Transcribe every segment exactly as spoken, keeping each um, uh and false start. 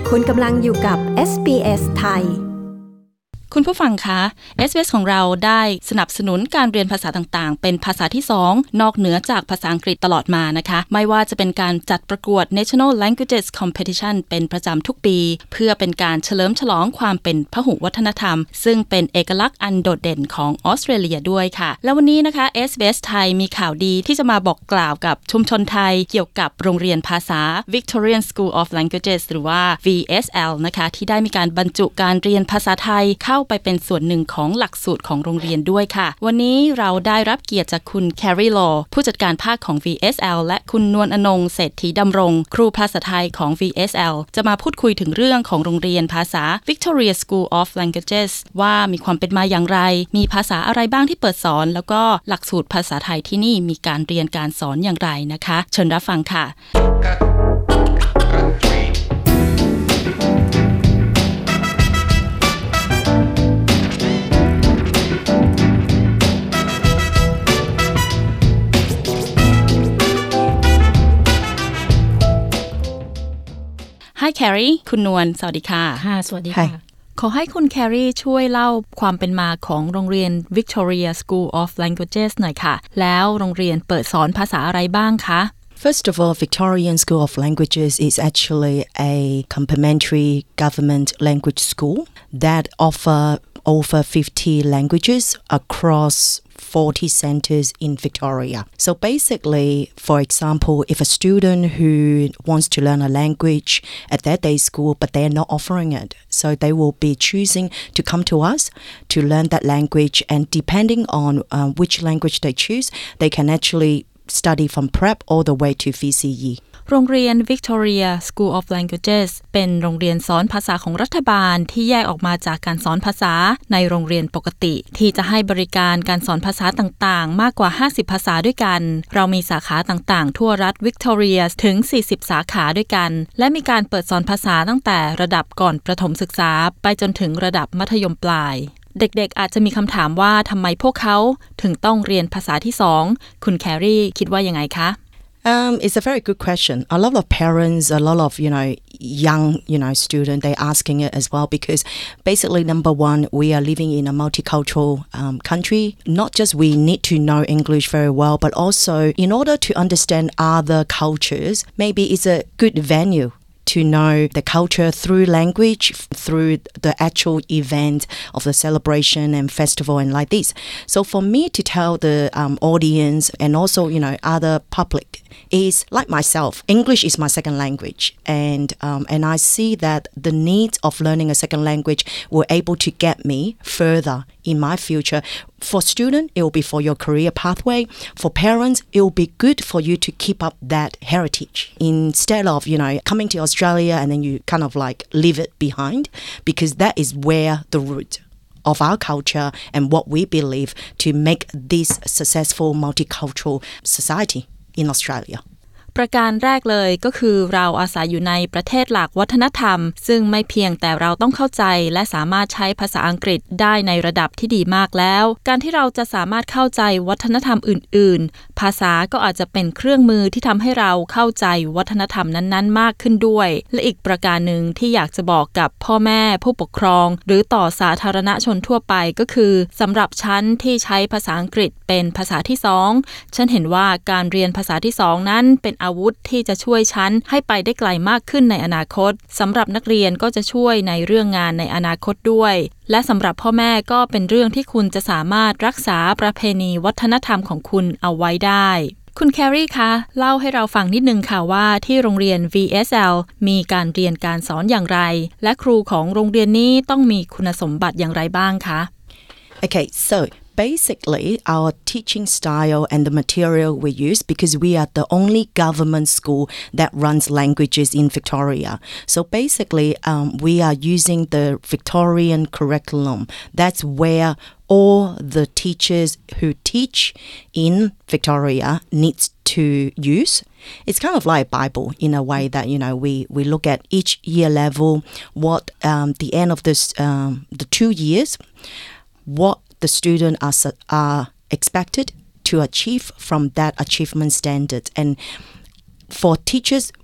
คุณกำลังอยู่กับ เอส บี เอส ไทยคุณผู้ฟังคะ เอส บี เอส ของเราได้สนับสนุนการเรียนภาษาต่างๆเป็นภาษาที่สองนอกเหนือจากภาษาอังกฤษตลอดมานะคะไม่ว่าจะเป็นการจัดประกวด National Languages Competition เป็นประจำทุกปีเพื่อเป็นการเฉลิมฉลองความเป็นพหุวัฒนธรรมซึ่งเป็นเอกลักษณ์อันโดดเด่นของออสเตรเลียด้วยค่ะแล้ววันนี้นะคะ เอส บี เอส ไทยมีข่าวดีที่จะมาบอกกล่าวกับชุมชนไทยเกี่ยวกับโรงเรียนภาษา Victorian School of Languages หรือว่า วี เอส แอล นะคะที่ได้มีการบรรจุการเรียนภาษาไทยเข้าไปเป็นส่วนหนึ่งของหลักสูตรของโรงเรียนด้วยค่ะวันนี้เราได้รับเกียรติจากคุณแครีลอผู้จัดการภาคของ วี เอส แอล และคุณนวลอนงเศรษฐีดำรงครูภาษาไทยของ วี เอส แอล จะมาพูดคุยถึงเรื่องของโรงเรียนภาษา Victoria School of Languages ว่ามีความเป็นมาอย่างไรมีภาษาอะไรบ้างที่เปิดสอนแล้วก็หลักสูตรภาษาไทยที่นี่มีการเรียนการสอนอย่างไรนะคะเชิญรับฟังค่ะHi Carrie คุณนวลสวัสดีค่ะค่ะสวัสดีค่ะขอให้คุณแครีช่วยเล่าความเป็นมาของโรงเรียน Victoria School of Languages หน่อยค่ะแล้วโรงเรียนเปิดสอนภาษาอะไรบ้างคะ First of all, Victorian School of Languages is actually a complementary government language school that offer over fifty languages across forty centers in Victoria. So basically, for example, if a student who wants to learn a language at their day school, but they're not offering it, so they will be choosing to come to us to learn that language, and depending on uh, which language they choose, they can actually study from prep all the way to วี ซี อีโรงเรียน Victoria School of Languages เป็นโรงเรียนสอนภาษาของรัฐบาลที่แยกออกมาจากการสอนภาษาในโรงเรียนปกติที่จะให้บริการการสอนภาษาต่างๆมากกว่าห้าสิบภาษาด้วยกันเรามีสาขาต่างๆทั่วรัฐ Victoria ถึงสี่สิบสาขาด้วยกันและมีการเปิดสอนภาษาตั้งแต่ระดับก่อนประถมศึกษาไปจนถึงระดับมัธยมปลายเด็กๆอาจจะมีคำถามว่าทำไมพวกเขาถึงต้องเรียนภาษาที่สองคุณแครีคิดว่ายังไงคะ Um, it's a very good question. A lot of parents, a lot of, you know, young, you know, students, they're asking it as well because basically, number one, we are living in a multicultural um, country. Not just we need to know English very well, but also in order to understand other cultures, maybe it's a good venue to know the culture through language, through the actual event of the celebration and festival and like this. So for me to tell the um, audience and also, you know, other public is like myself, English is my second language. And um, and I see that the need of learning a second language will able to get me further in my future. For students, it will be for your career pathway. For parents, it will be good for you to keep up that heritage instead of, you know, coming to Australia and then you kind of like leave it behind because that is where the root of our culture and what we believe to make this successful multicultural society in Australia. ประการแรกเลยก็คือเราอาศัยอยู่ในประเทศหลากวัฒนธรรมซึ่งไม่เพียงแต่เราต้องเข้าใจและสามารถใช้ภาษาอังกฤษได้ในระดับที่ดีมากแล้วการที่เราจะสามารถเข้าใจวัฒนธรรมอื่นๆภาษาก็อาจจะเป็นเครื่องมือที่ทำให้เราเข้าใจวัฒนธรรมนั้นๆมากขึ้นด้วยและอีกประการหนึ่งที่อยากจะบอกกับพ่อแม่ผู้ปกครองหรือต่อสาธารณชนทั่วไปก็คือสำหรับฉันที่ใช้ภาษาอังกฤษเป็นภาษาที่สองฉันเห็นว่าการเรียนภาษาที่สองนั้นเป็นอาวุธที่จะช่วยฉันให้ไปได้ไกลมากขึ้นในอนาคตสำหรับนักเรียนก็จะช่วยในเรื่องงานในอนาคตด้วยและสำหรับพ่อแม่ก็เป็นเรื่องที่คุณจะสามารถรักษาประเพณีวัฒนธรรมของคุณเอาไว้ได้คุณแครีคะเล่าให้เราฟังนิดนึงค่ะว่าที่โรงเรียน วี เอส แอล มีการเรียนการสอนอย่างไรและครูของโรงเรียนนี้ต้องมีคุณสมบัติอย่างไรบ้างคะ Okay, so basically our teaching style and the material we use because we are the only government school that runs languages in Victoria. So basically um, we are using the Victorian curriculum. That's where all the teachers who teach in Victoria needs to use. It's kind of like a Bible in a way that, you know, we, we look at each year level, what um, the end of this um, the two years, what the students are, are expected to achieve from that achievement standard. And for teachers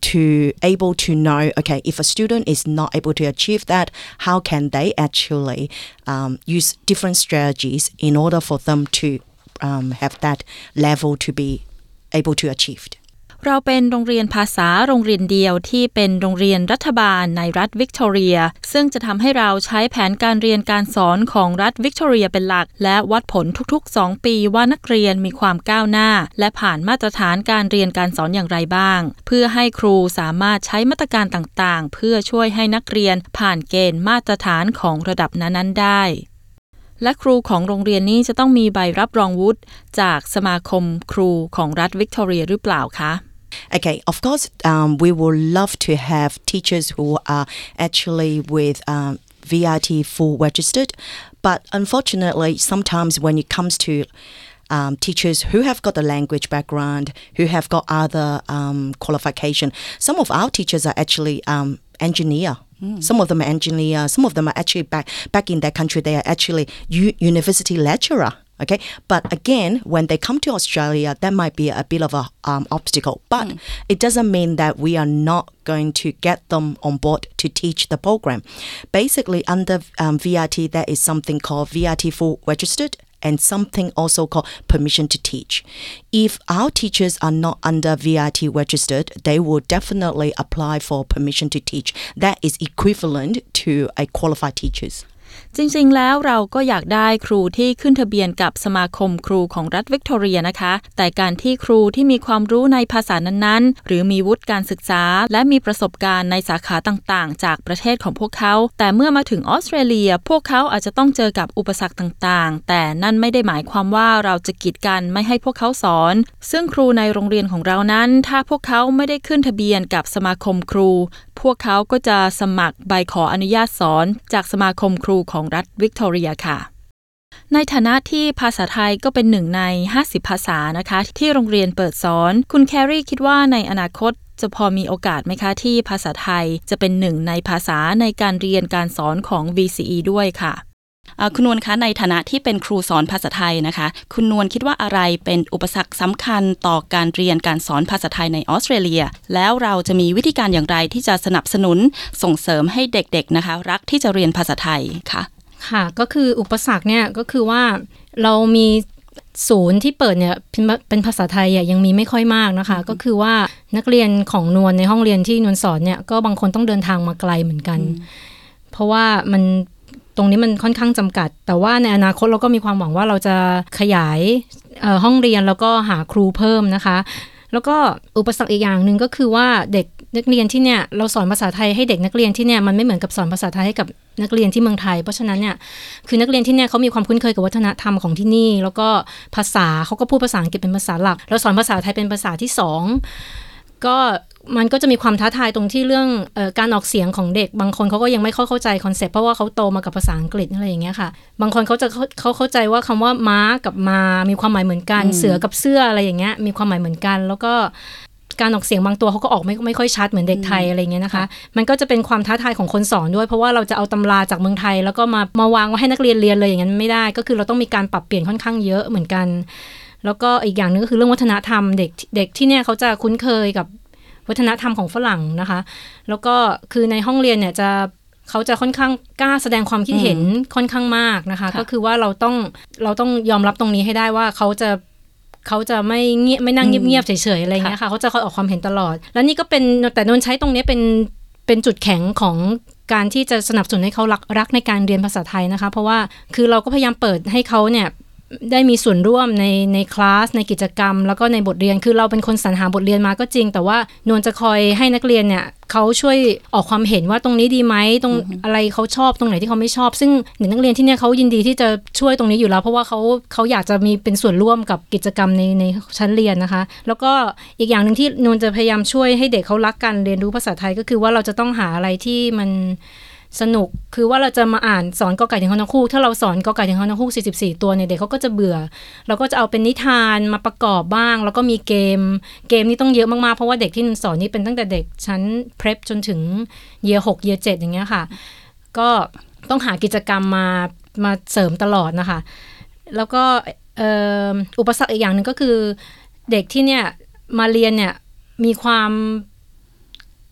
to able to know, okay, if a student is not able to achieve that, how can they actually um, use different strategies in order for them to um, have that level to be able to achieve. เราเป็นโรงเรียนภาษาโรงเรียนเดียวที่เป็นโรงเรียนรัฐบาลในรัฐวิกตอเรียซึ่งจะทำให้เราใช้แผนการเรียนการสอนของรัฐวิกตอเรียเป็นหลักและวัดผลทุกๆสองปีว่านักเรียนมีความก้าวหน้าและผ่านมาตรฐานการเรียนการสอนอย่างไรบ้างเพื่อให้ครูสามารถใช้มาตรการต่างๆเพื่อช่วยให้นักเรียนผ่านเกณฑ์มาตรฐานของระดับนั้นๆได้และครูของโรงเรียนนี้จะต้องมีใบรับรองวุฒิจากสมาคมครูของรัฐวิกตอเรียหรือเปล่าคะ Okay, of course, um, we would love to have teachers who are actually with um, V I T full registered, but unfortunately, sometimes when it comes to um, teachers who have got a language background, who have got other um, qualification, some of our teachers are actually um, engineer. Mm. Some of them are engineer. Some of them are actually back back in their country. They are actually u- university lecturer.Okay, but again, when they come to Australia, that might be a bit of a um, obstacle. But mm. it doesn't mean that we are not going to get them on board to teach the program. Basically, under um, V I T, there is something called V I T full registered and something also called permission to teach. If our teachers are not under V I T registered, they will definitely apply for permission to teach. That is equivalent to a qualified teachers. จริงๆแล้วเราก็อยากได้ครูที่ขึ้นทะเบียนกับสมาคมครูของรัฐวิกตอเรียนะคะแต่การที่ครูที่มีความรู้ในภาษานั้นๆหรือมีวุฒิการศึกษาและมีประสบการณ์ในสาขาต่างๆจากประเทศของพวกเขาแต่เมื่อมาถึงออสเตรเลียพวกเขาอาจจะต้องเจอกับอุปสรรคต่างๆแต่นั่นไม่ได้หมายความว่าเราจะกีดกันไม่ให้พวกเขาสอนซึ่งครูในโรงเรียนของเรานั้นถ้าพวกเขาไม่ได้ขึ้นทะเบียนกับสมาคมครูพวกเขาก็จะสมัครใบขออนุญาตสอนจากสมาคมครูของรัฐวิกตอเรียค่ะในฐานะที่ภาษาไทยก็เป็นหนึ่งในห้าสิบภาษานะคะที่โรงเรียนเปิดสอนคุณแครีคิดว่าในอนาคตจะพอมีโอกาสไหมคะที่ภาษาไทยจะเป็นหนึ่งในภาษาในการเรียนการสอนของ วี ซี อี ด้วยค่ะคุณนวลคะในฐานะที่เป็นครูสอนภาษาไทยนะคะคุณนวลคิดว่าอะไรเป็นอุปสรรคสำคัญต่อการเรียนการสอนภาษาไทยในออสเตรเลียแล้วเราจะมีวิธีการอย่างไรที่จะสนับสนุนส่งเสริมให้เด็กๆนะคะรักที่จะเรียนภาษาไทยค่ะค่ะก็คืออุปสรรคเนี่ยก็คือว่าเรามีศูนย์ที่เปิดเนี่ยเป็นภาษาไทยยังมีไม่ค่อยมากนะคะก็คือว่านักเรียนของนวลในห้องเรียนที่นวลสอนเนี่ยก็บางคนต้องเดินทางมาไกลเหมือนกันเพราะว่ามันตรงนี้มันค่อนข้างจำกัดแต่ว่าในอนาคตเราก็มีความหวังว่าเราจะขยายห้องเรียนแล้วก็หาครูเพิ่มนะคะแล้วก็อุปสรรคอีกอย่างนึงก็คือว่าเด็กนักเรียนที่เนี่ยเราสอนภาษาไทยให้เด็กนักเรียนที่เนี่ยมันไม่เหมือนกับสอนภาษาไทยให้กับนักเรียนที่เมืองไทยเพราะฉะนั้นเนี่ยคือนักเรียนที่เนี่ยเขามีความคุ้นเคยกับวัฒนธรรมของที่นี่แล้วก็ภาษาเขาก็พูดภาษาอังกฤษเป็นภาษาหลักเราสอนภาษาไทยเป็นภาษาที่สองก็มันก็จะมีความท้าทายตรงที่เรื่องเอ่อการออกเสียงของเด็กบางคนเขาก็ยังไม่เข้าใจคอนเซ็ปต์เพราะว่าเขาโตมากับภาษาอังกฤษอะไรอย่างเงี้ยค่ะบางคนเขาจะเขาเข้าใจว่าคำว่าม้ากับมามีความหมายเหมือนกันเสือกับเสื้ออะไรอย่างเงี้ยมีความหมายเหมือนกันแล้วก็การออกเสียงบางตัวเขาก็ออกไม่ไม่ค่อยชัดเหมือนเด็กไทยอะไรเงี้ยนะคะมันก็จะเป็นความท้าทายของคนสอนด้วยเพราะว่าเราจะเอาตำราจากเมืองไทยแล้วก็มามาวางไว้ให้นักเรียนเรียนเลยอย่างนั้นไม่ได้ก็คือเราต้องมีการปรับเปลี่ยนค่อนข้างเยอะเหมือนกันแล้วก็อีกอย่างนึงก็คือเรื่องวัฒนธรรมเด็กเด็กที่เนี่ยเขาจะคุ้นเคยกับวัฒนธรรมของฝรั่งนะคะแล้วก็คือในห้องเรียนเนี่ยจะเขาจะค่อนข้างกล้าแสดงความคิดเห็นค่อนข้างมากนะคะก็คือว่าเราต้องเราต้องยอมรับตรงนี้ให้ได้ว่าเขาจะเขาจะไม่เงียบไม่นั่งเงียบๆเฉยๆอะไรเงี้ยค่ะเขาจะคอยออกความเห็นตลอดแล้วนี่ก็เป็นแต่นนใช้ตรงนี้เป็นเป็นจุดแข็งของการที่จะสนับสนุนให้เขารักรักในการเรียนภาษาไทยนะคะเพราะว่าคือเราก็พยายามเปิดให้เขาเนี่ยได้มีส่วนร่วมในในคลาสในกิจกรรมแล้วก็ในบทเรียนคือเราเป็นคนสรรหาบทเรียนมาก็จริงแต่ว่านวลจะคอยให้นักเรียนเนี่ยเขาช่วยออกความเห็นว่าตรงนี้ดีไหมตรง mm-hmm. อะไรเขาชอบตรงไหนที่เขาไม่ชอบซึ่งเด็กนักเรียนที่เนี่ยเขายินดีที่จะช่วยตรงนี้อยู่แล้วเพราะว่าเขาเขาอยากจะมีเป็นส่วนร่วมกับกิจกรรมในในชั้นเรียนนะคะแล้วก็อีกอย่างนึงที่นวลจะพยายามช่วยให้เด็กเขารักการเรียนรู้ภาษาไทยก็คือว่าเราจะต้องหาอะไรที่มันสนุกคือว่าเราจะมาอ่านสอนกอไก่ถึงฮอนกฮูกถ้าเราสอนกอไก่ถึงฮอนกฮูกสี่สิบสี่ตัวเนี่ยเด็กเขาก็จะเบื่อเราก็จะเอาเป็นนิทานมาประกอบบ้างแล้วก็มีเกมเกมนี่ต้องเยอะมากๆเพราะว่าเด็กที่สอนนี่เป็นตั้งแต่เด็กชั้น Prep จนถึง Year หก Year เจ็ดอย่างเงี้ยค่ะก็ต้องหากิจกรรมมามาเสริมตลอดนะคะแล้วก็อุปสรรคอีกอย่างนึงก็คือเด็กที่เนี่ยมาเรียนเนี่ยมีความ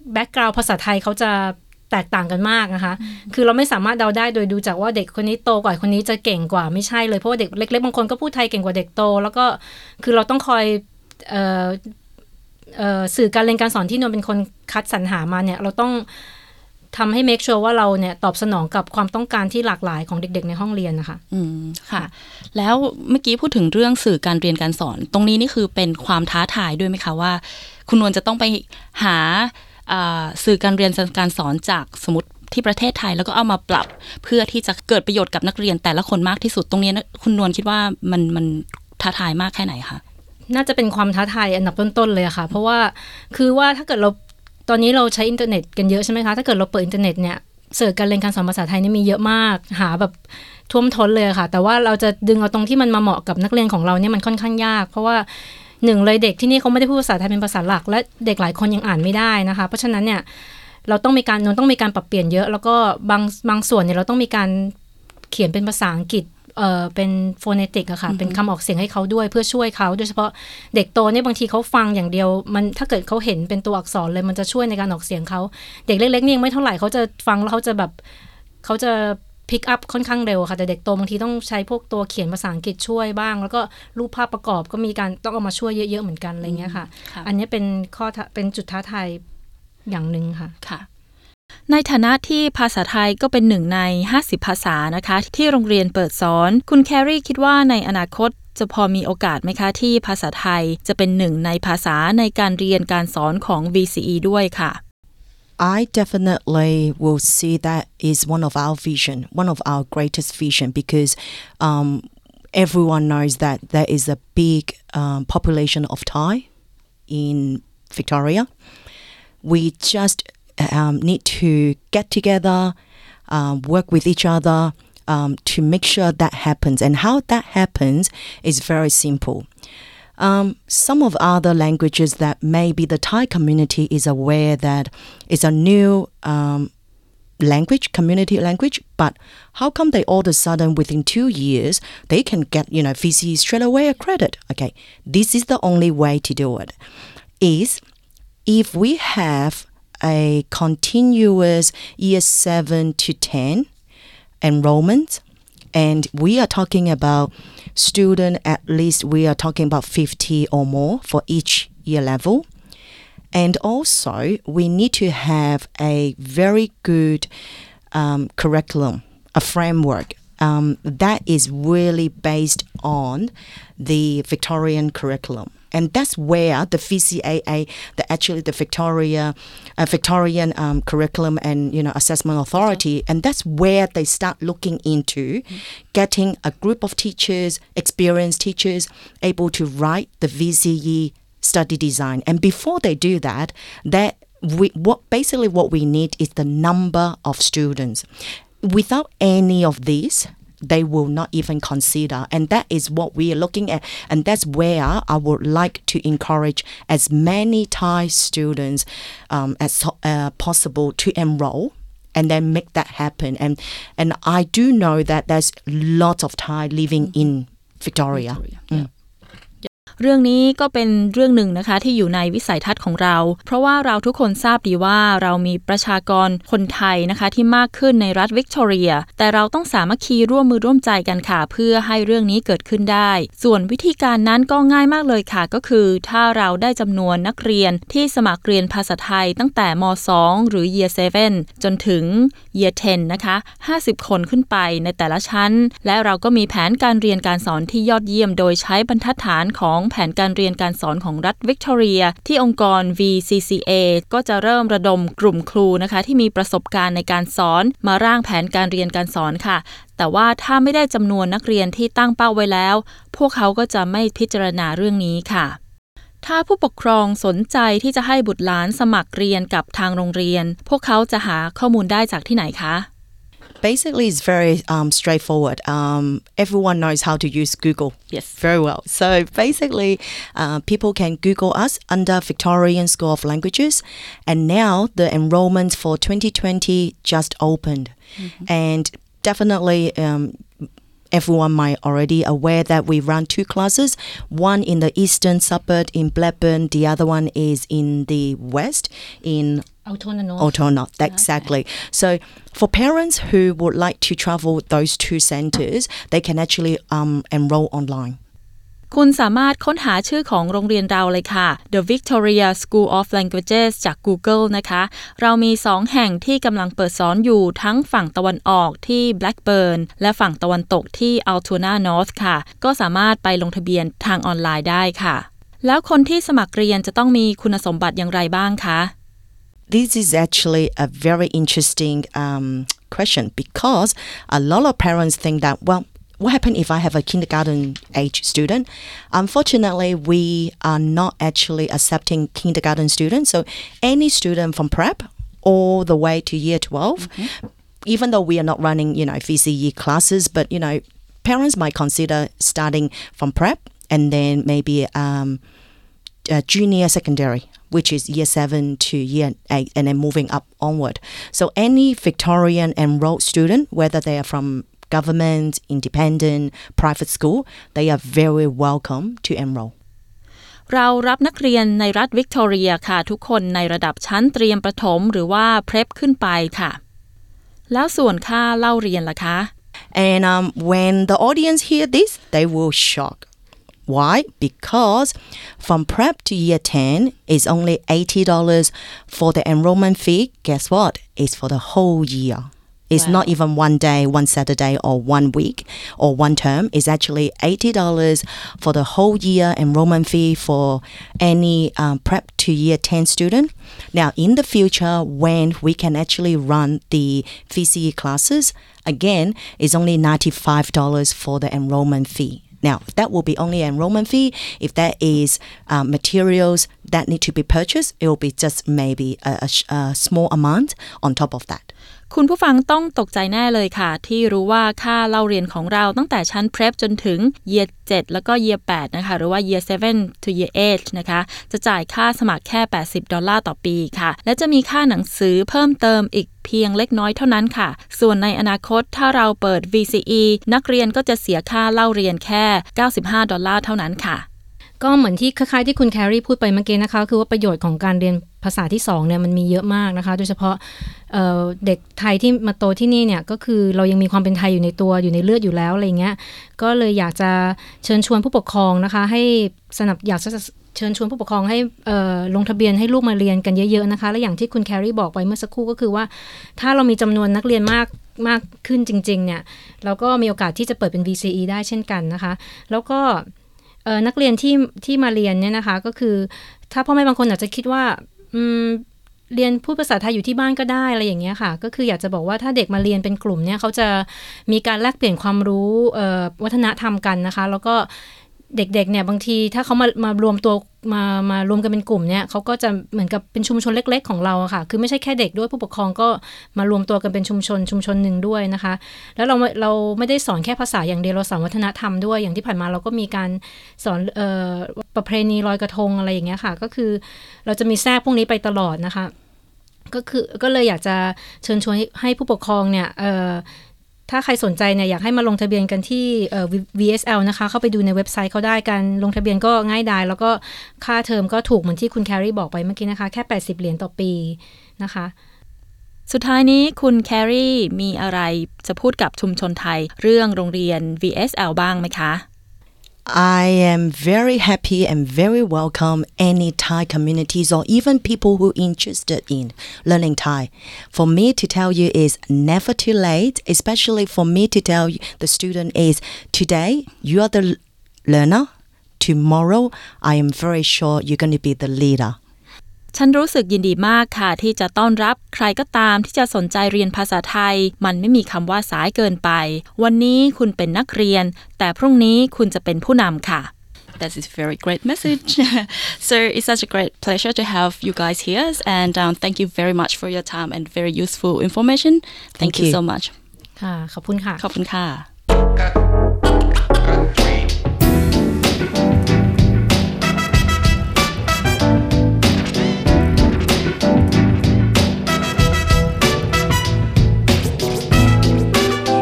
แบ็กกราวด์ภาษาไทยเขาจะแตกต่างกันมากนะคะคือเราไม่สามารถเดาได้โดยดูจากว่าเด็กคนนี้โตกว่าคนนี้จะเก่งกว่าไม่ใช่เลยเพราะว่าเด็กเล็กๆบางคนก็พูดไทยเก่งกว่าเด็กโตแล้วก็คือเราต้องคอยเอ่อเอ่อสื่อการเรียนการสอนที่นวลเป็นคนคัดสรรหามาเนี่ยเราต้องทำให้ make sure ว่าเราเนี่ยตอบสนองกับความต้องการที่หลากหลายของเด็กๆในห้องเรียนนะคะอืมค่ะแล้วเมื่อกี้พูดถึงเรื่องสื่อการเรียนการสอนตรงนี้นี่คือเป็นความท้าทายด้วยไหมคะว่าคุณนวลจะต้องไปหาสื่อการเรียนการสอนจากสมมติที่ประเทศไทยแล้วก็เอามาปรับเพื่อที่จะเกิดประโยชน์กับนักเรียนแต่ละคนมากที่สุดตรงนี้คุณนวลคิดว่ามันมันท้าทายมากแค่ไหนคะน่าจะเป็นความท้าทายอันดับต้นๆเลยค่ะเพราะว่าคือว่าถ้าเกิดเราตอนนี้เราใช้อินเทอร์เน็ตกันเยอะใช่ไหมคะถ้าเกิดเราเปิดอินเทอร์เน็ตเนี่ยสื่อการเรียนการสอนภาษาไทยนี่มีเยอะมากหาแบบท่วมท้นเลยค่ะแต่ว่าเราจะดึงเอาตรงที่มันมาเหมาะกับนักเรียนของเราเนี่ยมันค่อนข้างยากเพราะว่าหนึ่งเลยเด็กที่นี่เขาไม่ได้พูดภาษาไทยเป็นภาษาหลักและเด็กหลายคนยังอ่านไม่ได้นะคะเพราะฉะนั้นเนี่ยเราต้องมีการนนต้องมีการปรับเปลี่ยนเยอะแล้วก็บางบางส่วนเนี่ยเราต้องมีการเขียนเป็นภาษาอังกฤษเอ่อเป็นโฟเนติกอะค่ะ mm-hmm. เป็นคำออกเสียงให้เขาด้วยเพื่อช่วยเขาโดยเฉพาะเด็กโตเนี่ยบางทีเขาฟังอย่างเดียวมันถ้าเกิดเขาเห็นเป็นตัวอักษรเลยมันจะช่วยในการออกเสียงเขาเด็กเล็กๆนี่ยังไม่เท่าไหร่เขาจะฟังแล้วเขาจะแบบเขาจะพิกอัพค่อนข้างเร็วค่ะแต่เด็กโตบางทีต้องใช้พวกตัวเขียนภาษาอังกฤษช่วยบ้างแล้วก็รูปภาพประกอบก็มีการต้องเอามาช่วยเยอะๆเหมือนกันอะไรเงี้ยค่ะอันนี้เป็นข้อเป็นจุดท้าทายอย่างนึงค่ะค่ะในฐานะที่ภาษาไทยก็เป็นหนึ่งในห้าสิบภาษานะคะที่โรงเรียนเปิดสอนคุณแครี่คิดว่าในอนาคตจะพอมีโอกาสไหมคะที่ภาษาไทยจะเป็นหนึ่งในภาษาในการเรียนการสอนของ วี ซี อี ด้วยค่ะ I definitely will see that is one of our vision, one of our greatest vision, because um, everyone knows that there is a big um, population of Thai in Victoria. We just um, need to get together, um, work with each other um, to make sure that happens. And how that happens is very simple.Um, some of other languages that maybe the Thai community is aware that it's a new um, language, community language, but how come they all of a sudden within two years they can get, you know, V C E straight away a credit? Okay, this is the only way to do it. Is if we have a continuous year seven to ten enrollment, and we are talking about student at least we are talking about fifty or more for each year level. And also we need to have a very good um, curriculum, a framework um, that is really based on the Victorian curriculum.And that's where the V C A A, the actually the Victoria, uh, Victorian um, curriculum and you know assessment authority, and that's where they start looking into mm-hmm. getting a group of teachers, experienced teachers, able to write the V C E study design. And before they do that, that we what basically what we need is the number of students. Without any of these.They will not even consider, and that is what we are looking at, and that's where I would like to encourage as many Thai students um, as uh, possible to enroll and then make that happen. And and I do know that there's lots of Thai living in Victoria. Victoria. Mm. เรื่องนี้ก็เป็นเรื่องหนึ่งนะคะที่อยู่ในวิสัยทัศน์ของเราเพราะว่าเราทุกคนทราบดีว่าเรามีประชากรคนไทยนะคะที่มากขึ้นในรัฐวิกตอเรียแต่เราต้องสามัคคีร่วมมือร่วมใจกันค่ะเพื่อให้เรื่องนี้เกิดขึ้นได้ส่วนวิธีการนั้นก็ง่ายมากเลยค่ะก็คือถ้าเราได้จำนวนนักเรียนที่สมัครเรียนภาษาไทยตั้งแต่ม.สอง หรือ Year เซเว่น จนถึง Year เท็น นะคะห้าสิบคนขึ้นไปในแต่ละชั้นและเราก็มีแผนการเรียนการสอนที่ยอดเยี่ยมโดยใช้บรรทัดฐานของแผนการเรียนการสอนของรัฐวิกตอเรียที่องค์กร วี ซี ซี เอ ก็จะเริ่มระดมกลุ่มครูนะคะที่มีประสบการณ์ในการสอนมาร่างแผนการเรียนการสอนค่ะแต่ว่าถ้าไม่ได้จำนวนนักเรียนที่ตั้งเป้าไว้แล้วพวกเขาก็จะไม่พิจารณาเรื่องนี้ค่ะถ้าผู้ปกครองสนใจที่จะให้บุตรหลานสมัครเรียนกับทางโรงเรียนพวกเขาจะหาข้อมูลได้จากที่ไหนคะ Basically, it's very um, straightforward. Um, everyone knows how to use Google yes. very well. So basically, uh, people can Google us under Victorian School of Languages. And now the enrollment for twenty twenty just opened. Mm-hmm. And definitely, um, everyone might already aware that we run two classes. One in the eastern suburb in Blackburn. The other one is in the west in autonomous autonomous exactly so for parents who would like to travel those two centers they can actually um, enroll online คุณสามารถค้นหาชื่อของโรงเรียนเราเลยค่ะ The Victoria School of Languages จาก Google นะคะเรามีสองแห่งที่กำลังเปิดสอนอยู่ทั้งฝั่งตะวันออกที่ Blackburn และฝั่งตะวันตกที่ Altona North ค่ะก็สามารถไปลงทะเบียนทางออนไลน์ได้ค่ะแล้วคนที่สมัครเรียนจะต้องมีคุณสมบัติอย่างไรบ้างคะ This is actually a very interesting um, question because a lot of parents think that well what happens if I have a kindergarten age student? Unfortunately, we are not actually accepting kindergarten students. So any student from prep all the way to year twelve, mm-hmm. even though we are not running, you know, V C E classes, but, you know, parents might consider starting from prep and then maybe um, uh, junior secondary, which is year seven to year eight, and then moving up onward. So any Victorian enrolled student, whether they are from government, independent, private school, they are very welcome to enroll. เรารับนักเรียนในรัฐวิกตอเรียค่ะทุกคนในระดับชั้นเตรียมประถมหรือว่า prep ขึ้นไปค่ะแล้วส่วนค่าเล่าเรียนล่ะคะ And um, when the audience hear this, they will shock. Why? Because from prep to year ten is only eighty dollars for the enrollment fee. Guess what? It's for the whole year.It's wow. not even one day, one Saturday, or one week, or one term. It's actually eighty dollars for the whole year enrollment fee for any um, prep to year ten student. Now, in the future, when we can actually run the V C E classes, again, it's only ninety-five dollars for the enrollment fee.Now, that will be only enrollment fee. If there is uh, materials that need to be purchased, it will be just maybe a, a, a small amount on top of that. คุณผู้ฟังต้องตกใจแน่เลยค่ะที่รู้ว่าค่าเล่าเรียนของเราตั้งแต่ชั้น prep จนถึง year เจ็ดแล้วก็ year แปดนะคะหรือว่า year เจ็ด to year แปดนะคะจะจ่ายค่าสมัครแค่แปดสิบดอลลาร์ต่อปีค่ะและจะมีค่าหนังสือเพิ่มเติมอีกเพียงเล็กน้อยเท่านั้นค่ะส่วนในอนาคตถ้าเราเปิด วี ซี อี นักเรียนก็จะเสียค่าเล่าเรียนแค่เก้าสิบห้าดอลลาร์เท่านั้นค่ะก็เหมือนที่คล้ายๆที่คุณแครีพูดไปเมื่อกี้นะคะคือว่าประโยชน์ของการเรียนภาษาที่สองเนี่ยมันมีเยอะมากนะคะโดยเฉพาะ เอ่อ เด็กไทยที่มาโตที่นี่เนี่ยก็คือเรายังมีความเป็นไทยอยู่ในตัวอยู่ในเลือดอยู่แล้วอะไรเงี้ยก็เลยอยากจะเชิญชวนผู้ปกครองนะคะให้สนับอยากจะเชิญชวนผู้ปกครองให้เอ่อลงทะเบียนให้ลูกมาเรียนกันเยอะๆนะคะและอย่างที่คุณแครีบอกไปเมื่อสักครู่ก็คือว่าถ้าเรามีจำนวนนักเรียนมากมากขึ้นจริงๆเนี่ยเราก็มีโอกาสที่จะเปิดเป็น วี ซี อี ได้เช่นกันนะคะแล้วก็เอ่อนักเรียนที่ที่มาเรียนเนี่ยนะคะก็คือถ้าพ่อแม่บางคนอาจจะคิดว่าอืมเรียนพูดภาษาไทยอยู่ที่บ้านก็ได้อะไรอย่างเงี้ยค่ะก็คืออยากจะบอกว่าถ้าเด็กมาเรียนเป็นกลุ่มเนี่ยเขาจะมีการแลกเปลี่ยนความรู้เอ่อวัฒนธรรมกันนะคะแล้วก็เด็กๆเนี่ยบางทีถ้าเขามามารวมตัวมามารวมกันเป็นกลุ่มเนี่ยเขาก็จะเหมือนกับเป็นชุมชนเล็กๆของเราค่ะคือไม่ใช่แค่เด็กด้วยผู้ปกครองก็มารวมตัวกันเป็นชุมชนชุมชนหนึ่งด้วยนะคะแล้วเราเราไม่ได้สอนแค่ภาษาอย่างเดียวเราสอนวัฒนธรรมด้วยอย่างที่ผ่านมาเราก็มีการสอนเอ่อประเพณีลอยกระทงอะไรอย่างเงี้ยค่ะก็คือเราจะมีแทรกพวกนี้ไปตลอดนะคะก็คือก็เลยอยากจะเชิญชวนให้ผู้ปกครองเนี่ยเอ่อถ้าใครสนใจเนี่ยอยากให้มาลงทะเบียนกันที่เอ่อ วี เอส แอล นะคะเข้าไปดูในเว็บไซต์เขาได้กันลงทะเบียนก็ง่ายดายแล้วก็ค่าเทอมก็ถูกเหมือนที่คุณแครีบอกไปเมื่อกี้นะคะแค่แปดสิบเหรียญต่อปีนะคะสุดท้ายนี้คุณแครีมีอะไรจะพูดกับชุมชนไทยเรื่องโรงเรียน วี เอส แอล บ้างไหมคะ I am very happy and very welcome any Thai communities or even people who are interested in learning Thai. For me to tell you is never too late, especially for me to tell you, the student is today you are the learner, tomorrow I am very sure you're going to be the leader. ฉันรู้สึกยินดีมากค่ะที่จะต้อนรับใครก็ตามที่จะสนใจเรียนภาษาไทยมันไม่มีคำว่าสายเกินไปวันนี้คุณเป็นนักเรียนแต่พรุ่งนี้คุณจะเป็นผู้นำค่ะ That is a very great message. So it's such a great pleasure to have you guys here and um, thank you very much for your time and very useful information. Thank, thank you. you so much. ค่ะขอบคุณค่ะขอบคุณค่ะ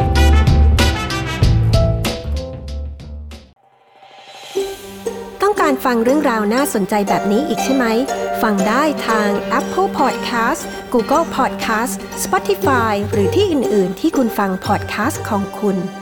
ต้องการการฟังเรื่องราวน่าสนใจแบบนี้อีกใช่ไหมฟังได้ทาง Apple Podcast Google Podcast Spotify หรือที่อื่น ๆ ที่คุณฟัง podcast ของคุณ